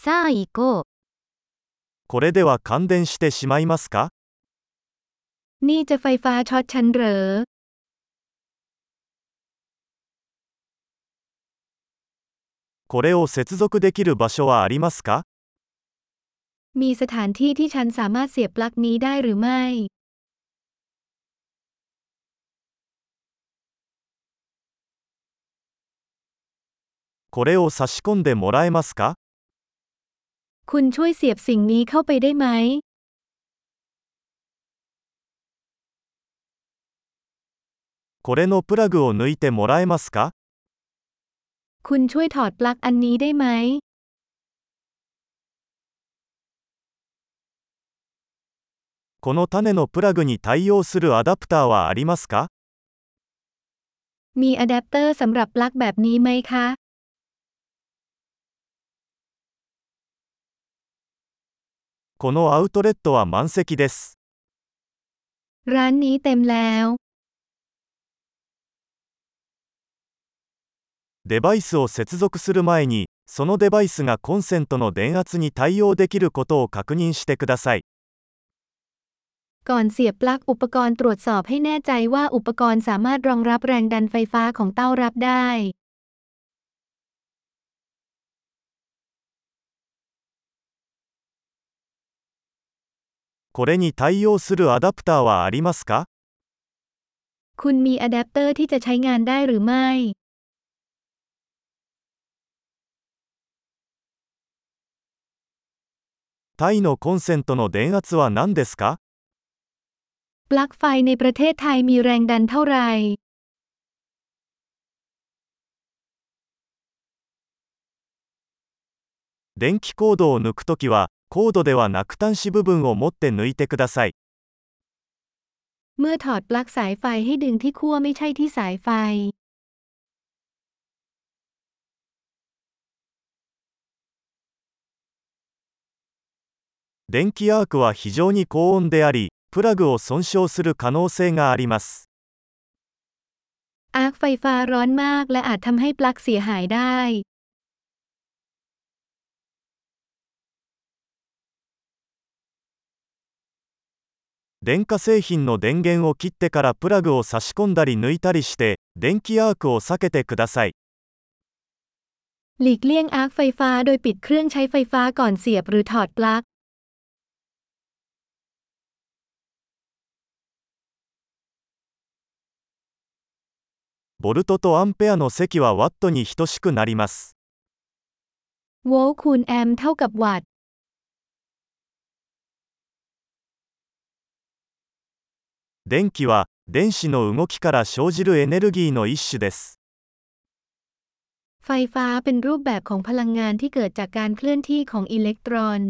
さあ行こう。 これでは感電してしまいますか？ นี่จะไฟฟ้าช็อตฉันเหรอこれを接続できる場所はありますか？ มีสถานที่ที่ฉันสามารถเสียบปลั๊กนี้ได้หรือไม่これを差し込んでもらえますか？ คุณช่วยเสียบสิ่งนี้เข้าไปได้ไหมこれのプラグを抜いてもらえますか？ คุณช่วยถอดปลั๊กอันนี้ได้ไหมこの種のプラグに対応するアダプターはありますか？ มีอะแดปเตอร์สำหรับปลั๊กแบบนี้ไหมคะこのアウトレットは満席です。 ร้านนี้เต็มแล้วデバイスを接続する前に、そのデバイスがコンセントの電圧に対応できることを確認してください。 ก่อนเสียบปลั๊กอุปกรณ์ตรวจสอบให้แน่ใจว่าอุปกรณ์สามารถรองรับแรงดันไฟฟ้าของเต้ารับได้これに対応するアダプターはありますか？ คุณมีอะแดปเตอร์ที่จะใช้งานได้หรือไม่タイのコンセントの電圧は何ですか？ ปลั๊กไฟในประเทศไทยมีแรงดันเท่าไหร่電気コードを抜くときは、コードではなく端子部分を持って抜いてください。 เมื่อถอดปลั๊กสายไฟให้ดึงที่ขั้วไม่ใช่ที่สายไฟ電気アークは非常に高温であり、プラグを損傷する可能性があります。 อาร์คไฟฟ้าร้อนมากและอาจทำให้ปลั๊กเสียหายได้電化製品の電源を切ってからプラグを差し込んだり抜いたりして、電気アークを避けてください。 หลีกเลี่ยงอาร์คไฟฟ้าโดยปิดเครื่องใช้ไฟฟ้าก่อนเสียบหรือถอดปลั๊กボルトとアンペアの積はワットに等しくなります。 โวลต์คูณแอมป์เท่ากับวัตต์電気は電子の動きから生じるエネルギーの一種です。 ไฟฟ้าเป็นรูปแบบของพลังงานที่เกิดจากการเคลื่อนที่ของอิเล็กตรอน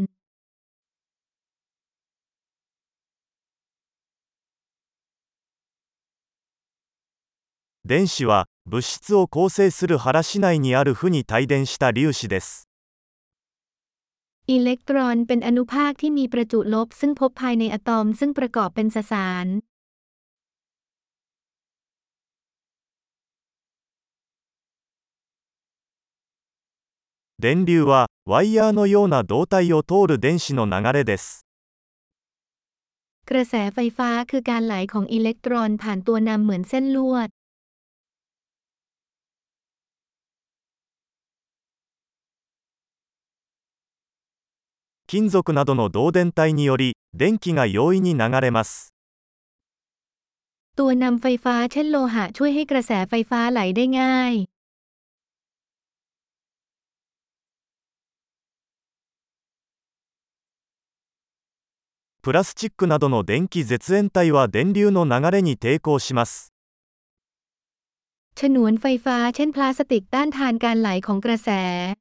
電子は物質を構成する原子内にある負に帯電した粒子です。 อิเล็กตรอนเป็นอนุภาคที่มีประจุลบซึ่งพบภายในอะตอมซึ่งประกอบเป็นสสาร電流はワイヤーのような導体を通る電子の流れです。 กระแสไฟฟ้าคือการไหลของอิเล็กตรอนผ่านตัวนำเหมือนเส้นลวด金属などの導電体により、電気が容易に流れます。 ตัวนำไฟฟ้าเช่นโลหะช่วยให้กระแสไฟฟ้าไหลได้ง่ายプラスチックなどの電気絶縁体は電流の流れに抵抗します。 ฉนวนไฟฟ้าเช่นพลาสติกต้านทานการไหลของกระแส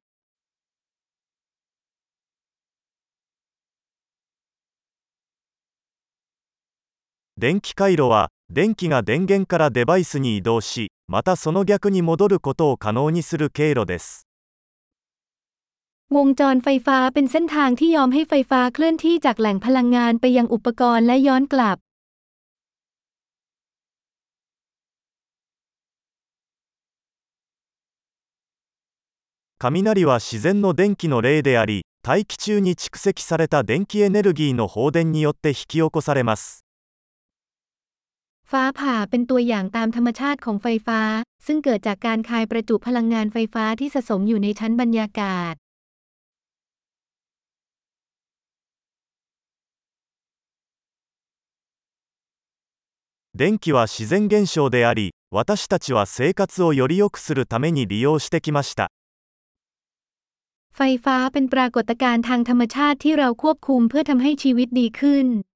電気回路は電気が電源からデバイスに移動し、またその逆に戻ることを可能にする経路です。 วงจรไฟฟ้าเป็นเส้นทางที่ยอมให้ไฟฟ้าเคลื่อนที่จากแหล่งพลังงานไปยังอุปกรณ์และย้อนกลับ雷は自然の電気の例であり、 大気中に蓄積された電気エネルギーの放電によって引き起こされます。 ฟ้าผ่าเป็นตัวอย่างตามธรรมชาติของไฟฟ้าซึ่งเกิดจากการคายประจุพลังงานไฟฟ้าที่สะสมอยู่ในชั้นบรรยากาศ電気は自然現象であり、私たちは生活をより良くするために利用してきました。 ไฟฟ้าเป็นปรากฏการณ์ทางธรรมชาติที่เราควบคุมเพื่อทำให้ชีวิตดีขึ้น